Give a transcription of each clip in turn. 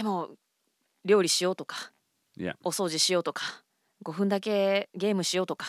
でも料理しようとか、 Yeah. お掃除しようとか、5分だけゲームしようとか。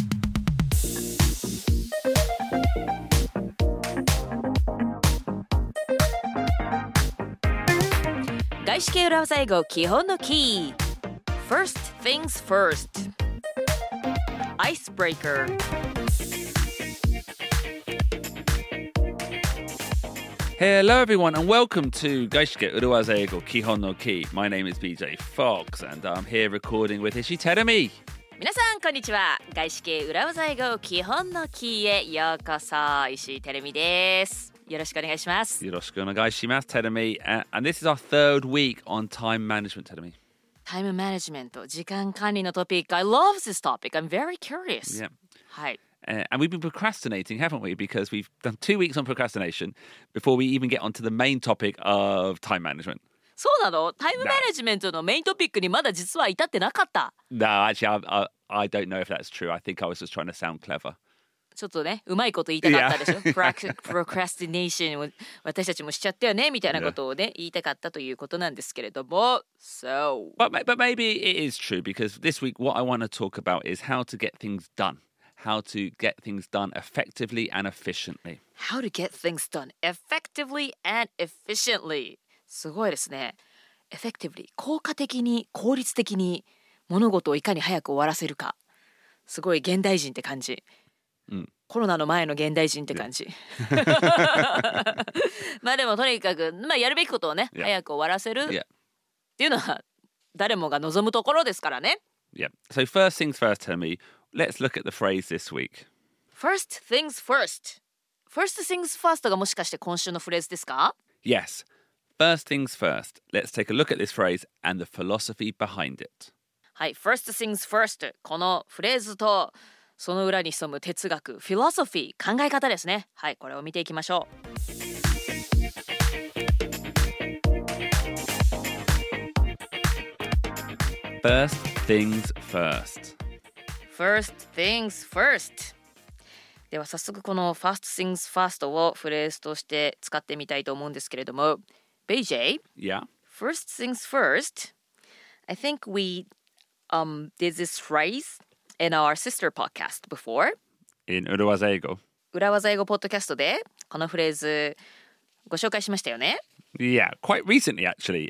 外資系裏技英語基本のキー。 First things first. Icebreaker. Hello everyone and welcome to 外資系裏技英語基本のキー。My name is BJ Fox and I'm here recording with Ishi Terumi. 皆さんこんにちは。外資系裏技英語基本のキーへようこそ。石井てるみです。よろしくお願いします。 よろしくお願いします、Terumi. And this is our third week on time management, Terumi. タイムマネジメント、時間管理のトピック。I love this topic. I'm very curious. Yeah. はい。 And we've been procrastinating, haven't we? Because we've done 2 weeks on procrastination before we even get onto the main topic of time management. そうなの？タイムマネジメントのメイントピックにまだ実は至ってなかった。 No, actually, I don't know if that's true. I think I was just trying to sound clever. ちょっとね、うまいこと言いたかったでしょ。Procrastination を私たちもしちゃったよねみたいなことをね、言いたかったということなんですけれども。So. But maybe it is true because this week what I want to talk about is how to get things done. How to get things done effectively and efficiently. How to get things done effectively and efficiently. すごいですね。Effectively 効果的に効率的に物事をいかに早く終わらせるか。すごい現代人って感じ。コロナの前の現代人って感じ。まあでもとにかく、やるべきことをね、早く終わらせるっていうのは誰もが望むところですからね。 Yeah. So first things first, tell me, let's look at the phrase this week. First things first. First things first がもしかして今週のフレーズですか？ Yes. First things first. Let's take a look at this phrase and the philosophy behind it. はい、First things first。このフレーズとその裏に潜む哲学、フィロソフィー、考え方ですね。はい、これを見ていきましょう。 First things first. First things first。では早速この First things first をフレーズとして使ってみたいと思うんですけれども、BJ? Yeah. First things first. I think we did this phrase in our sister podcast before. In Urawaza Eigo. 裏技英語ポッドキャストでこのフレーズご紹介しましたよね。 Yeah, quite recently actually.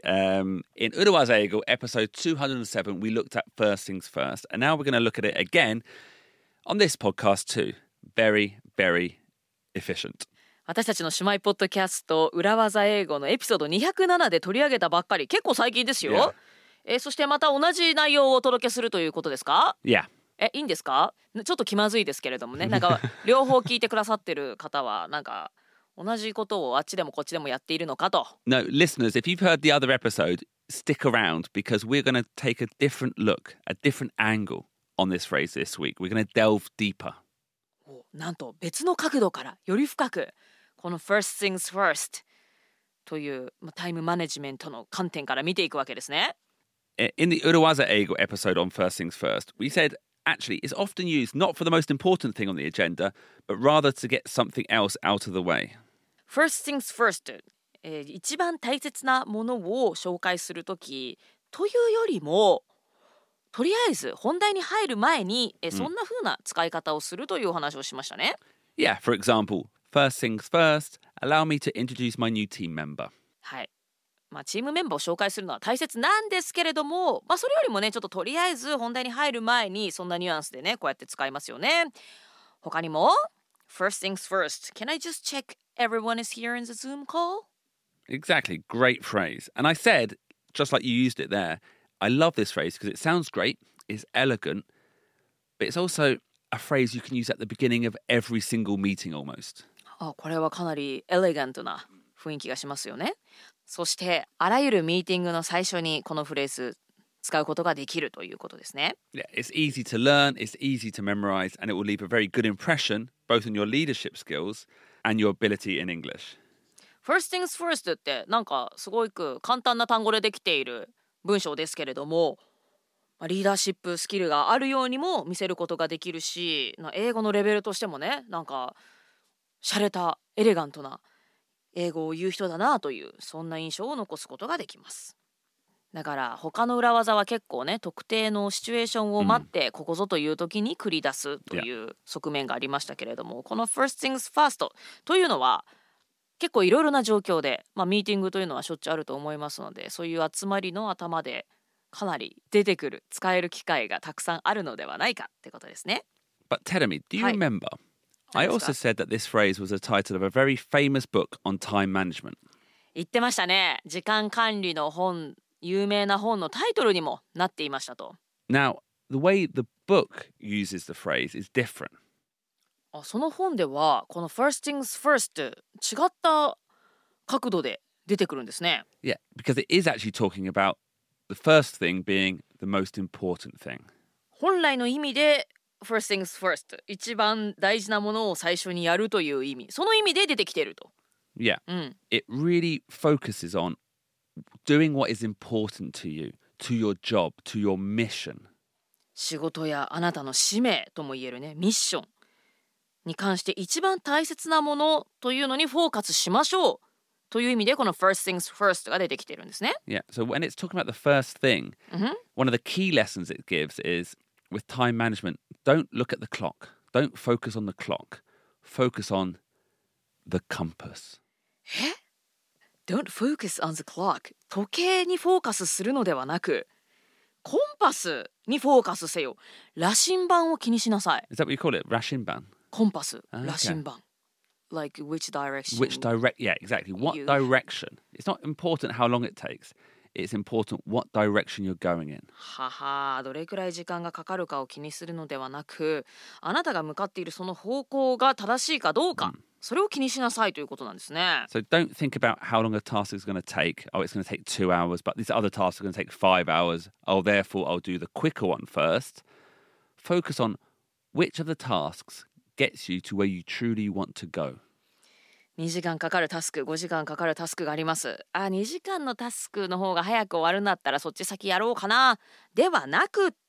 In Urawaza Eigo, episode 207, we looked at first things first. And now we're going to look at it again on this podcast too. Very, very efficient. 私たちの姉妹ポッドキャスト裏技英語のエピソード207で取り上げたばっかり、結構最近ですよ。そしてまた同じ内容をお届けするということですか？ Yeah. いいんですか？ちょっと気まずいですけれどもね。なんか両方聞いてくださってる方はなんか同じことをあっちでもこっちでもやっているのかと。 No, listeners, if you've heard the other episode, stick around because we're going to take a different look, a different angle on this phrase this week. We're going to delve deeper. なんと別の角度からより深くこの First things first というタイムマネジメントの観点から見ていくわけですね。 In the Urawaza Eigo episode on First Things First, we said actually it's often used not for the most important thing on the agenda, but rather to get something else out of the way. First things first、一番大切なものを紹介するときというよりも、とりあえず本題に入る前に、そんな風な使い方をするというお話をしましたね。 Yeah, for example, first things first, allow me to introduce my new team member. はい。チームメンバーを紹介するのは大切なんですけれども、それよりもね、ちょっととりあえず本題に入る前にそんなニュアンスでね、こうやって使いますよね。他にも First things first, can I just check everyone is here in the Zoom call? Exactly, great phrase. And I said, just like you used it there, I love this phrase because it sounds great, it's elegant, but it's also a phrase you can use at the beginning of every single meeting almost. これはかなりエレガントな雰囲気がしますよね。そしてあらゆるミーティングの最初にこのフレーズ使うことができるということですね。 Yeah, it's easy to learn, it's easy to memorize, and it will leave a very good impression both in your leadership skills and your ability in English. First things first ってなんかすごく簡単な単語でできている文章ですけれども、リーダーシップスキルがあるようにも見せることができるし、英語のレベルとしてもね、なんか洒落たエレガントな英語を言う人だなという、そんな印象を残すことができます。 だから他の裏技は結構ね、特定のシチュエーションを待ってここぞという時に繰り出すという側面がありましたけれども、この First things first というのは結構いろいろな状況で、ミーティングというのはしょっちゅうあると思いますので、そういう集まりの頭でかなり出てくる、使える機会がたくさんあるのではないかってことですね。 But Teremi, do you はい。 remember? I 何です also か？ said that this phrase was a title of a very famous book on time management. 言ってましたね。時間管理の本、有名な本のタイトルにもなっていましたと。 Now, the way the book uses the phrase is different. その本ではこの First things first 違った角度で出てくるんですね。 Yeah, because it is actually talking about the first thing being the most important thing. 本来の意味で First things first、 一番大事なものを最初にやるという意味、その意味で出てきていると。 Yeah, うん。 it really focuses on doing what is important to you, to your job, to your mission. 仕事やあなたの使命とも言えるね、ミッションに関して一番大切なものというのにフォーカスしましょうという意味でこの First things first が出てきてるんですね。 Yeah, so when it's talking about the first thing, one of the key lessons it gives is with time management, don't look at the clock. Don't focus on the clock. Focus on the compass. Don't focus on the clock。 時計にフォーカスするのではなく、コンパスにフォーカスせよ。羅針盤を気にしなさい。 Is that what you call it? Rashinban? コンパス、 Okay. 羅針盤。Like which direction? Yeah, exactly. What You- direction? It's not important how long it takes. It's important what direction you're going in. はは、どれくらい時間がかかるかを気にするのではなく、あなたが向かっているその方向が正しいかどうか、それを気にしなさいということなんですね。 So don't think about how long a task is going to take. Oh, it's going to take 2 hours, but these other tasks are going to take 5 hours. Oh, therefore, I'll do the quicker one first. Focus on which of the tasks gets you to where you truly want to go. 2時間かかるタスク、5時間かかるタスクがあります。2時間のタスクの方が早く終わるんだったらそっち先やろうかな。ではなくって、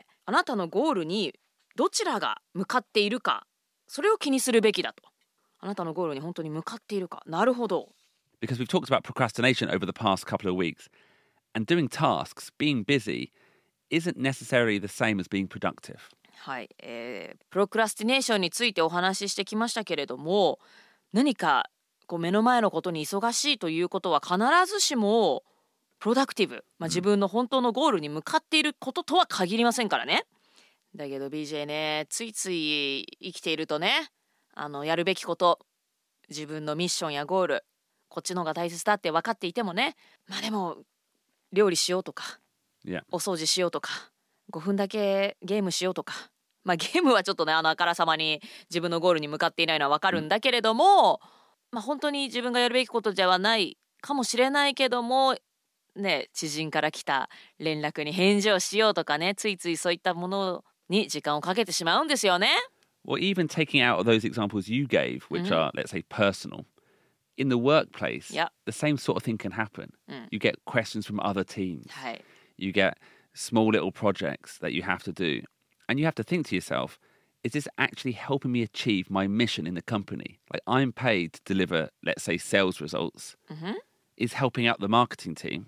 あなたのゴールにどちらが向かっているか、それを気にするべきだと。あなたのゴールに本当に向かっているか。なるほど。 Because we've talked about procrastination over the past couple of weeks. And doing tasks, being busy, isn't necessarily the same as being productive. はい、プロクラスティネーションについてお話ししてきましたけれども、何かこう目の前のことに忙しいということは必ずしもプロダクティブ、自分の本当のゴールに向かっていることとは限りませんからね。だけど BJ ね、ついつい生きているとね、やるべきこと、自分のミッションやゴール、こっちの方が大切だって分かっていてもね、でも料理しようとか、 Yeah. お掃除しようとか、5分だけゲームしようとか、ゲームはちょっとね、あからさまに自分のゴールに向かっていないのは分かるんだけれども、本当に自分がやるべきことではないかもしれないけどもね、知人から来た連絡に返事をしようとかね、ついついそういったものに時間をかけてしまうんですよね。 Well, even taking out of those examples you gave, which are, let's say, personal, in the workplace, Yep. the same sort of thing can happen. You get questions from other teams. はい。 You get small little projects that you have to do. And you have to think to yourself, is this actually helping me achieve my mission in the company? Like I'm paid to deliver, let's say, sales results. Is helping out the marketing team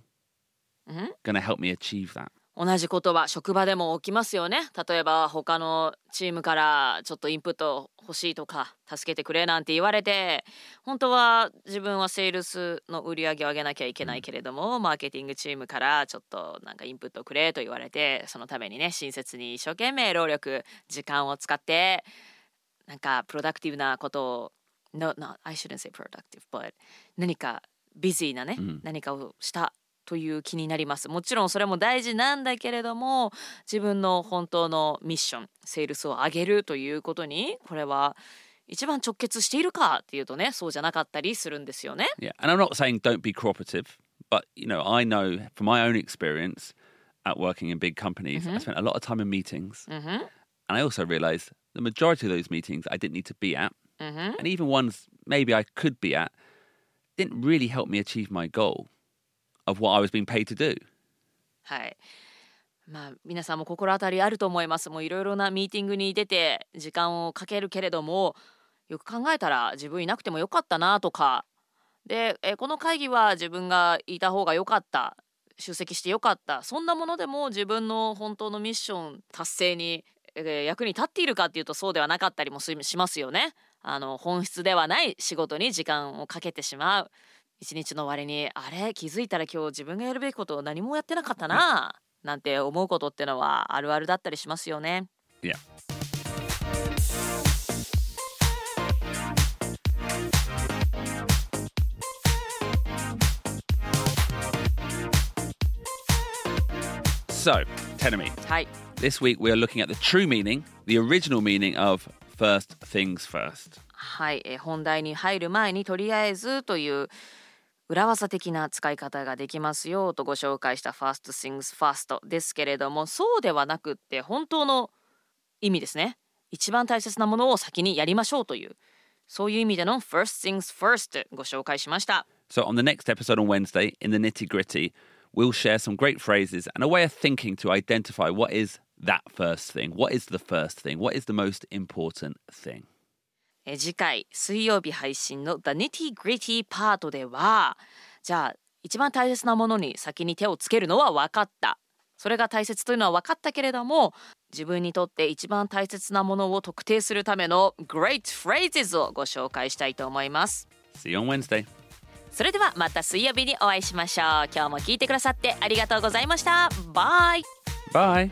going to help me achieve that? 同じことは職場でも起きますよね。例えば他のチームからちょっとインプット欲しいとか助けてくれなんて言われて、本当は自分はセールスの売り上げを上げなきゃいけないけれども、マーケティングチームからちょっとなんかインプットくれと言われて、そのためにね、親切に一生懸命労力時間を使ってなんかプロダクティブなことを No, I shouldn't say productive, but 何かビジーなね、何かをしたという気になります。もちろんそれも大事なんだけれども、自分の本当のミッション、セールスを上げるということにこれは一番直結しているかっていうとね、そうじゃなかったりするんですよね。 Yeah. And I'm not saying don't be cooperative, but, I know from my own experience at working in big companies, I spent a lot of time in meetings. And I also realized the majority of those meetings I didn't need to be at. And even ones maybe I could be at didn't really help me achieve my goal of what I was being paid to do. はい。皆さんも心当たりあると思います。もういろいろなミーティングに出て時間をかけるけれども、よく考えたら自分いなくてもよかったなとかで、この会議は自分がいた方がよかった、 出席してよかった、そんなものでも自分の本当のミッション達成に、役に立っているかっていうとそうではなかったりもしますよね。本質ではない仕事に時間をかけてしまう。一日の終わりにあれ気づいたら今日自分がやるべきことを何もやってなかったななんて思うことってのはあるあるだったりしますよね。 Yeah. So, Tenemy, はい、 this week we are looking at the true meaning, the original meaning of first things first. はい、本題に入る前にとりあえずという裏技的な使い方ができますよとご紹介した First Things First ですけれども、そうではなくって本当の意味ですね。一番大切なものを先にやりましょうという、そういう意味での First Things First ご紹介しました。 So, on the next episode on Wednesday, in the nitty gritty, we'll share some great phrases and a way of thinking to identify what is that first thing. What is the first thing? What is the most important thing? 次回水曜日配信の The Nitty Gritty パートでは、じゃあ一番大切なものに先に手をつけるのは分かった、それが大切というのは分かったけれども、自分にとって一番大切なものを特定するための Great Phrases をご紹介したいと思います。 See you on Wednesday. それではまた水曜日にお会いしましょう。今日も聞いてくださってありがとうございました。バイ。 Bye.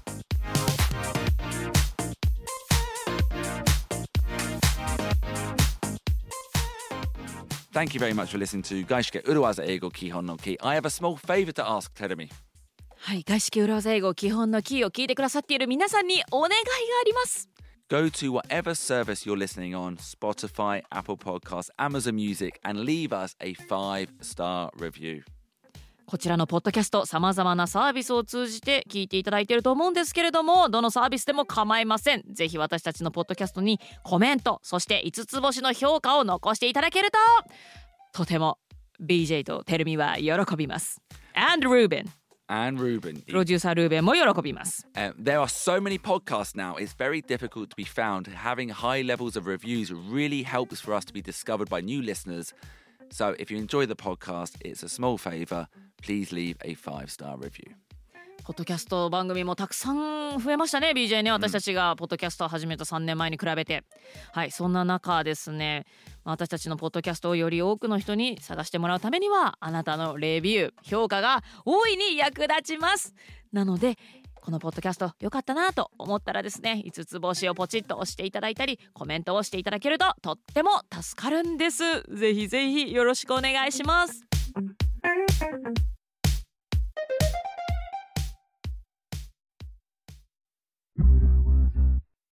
Thank you very much for listening to Gaishike Uruwaza Eigo Kihon no Ki. I have a small favor to ask, Terumi. はい、外資系裏技英語基本のキーを聞いてくださっている皆さんにお願いがあります。 Go to whatever service you're listening on, Spotify, Apple Podcasts, Amazon Music, and leave us a 5-star review. こちらのポッドキャスト、さまざまなサービスを通じて聞いていただいていると思うんですけれども、どのサービスでも構いません。ぜひ私たちのポッドキャストにコメント、そして5つ星の評価を残していただけるととても BJ とテルミは喜びます。 And And Ruben. プロデューサールーベンも喜びます。 There are so many podcasts now, it's very difficult to be found. Having high levels of reviews really helps for us to be discovered by new listeners. So if you enjoy the podcast, it's a small favor. Please leave a 5-star review. ポッドキャスト番組もたくさん増えましたね BJ ね。私たちがポッドキャストを始めた3年前に比べて、はい、そんな中ですね、私たちのポッドキャストをより多くの人に探してもらうためには、あなたのレビュー評価が大いに役立ちます。なのでこのポッドキャスト良かったなと思ったらですね、5つ星をポチッと押していただいたりコメントをしていただけるととっても助かるんです。ぜひぜひよろしくお願いします。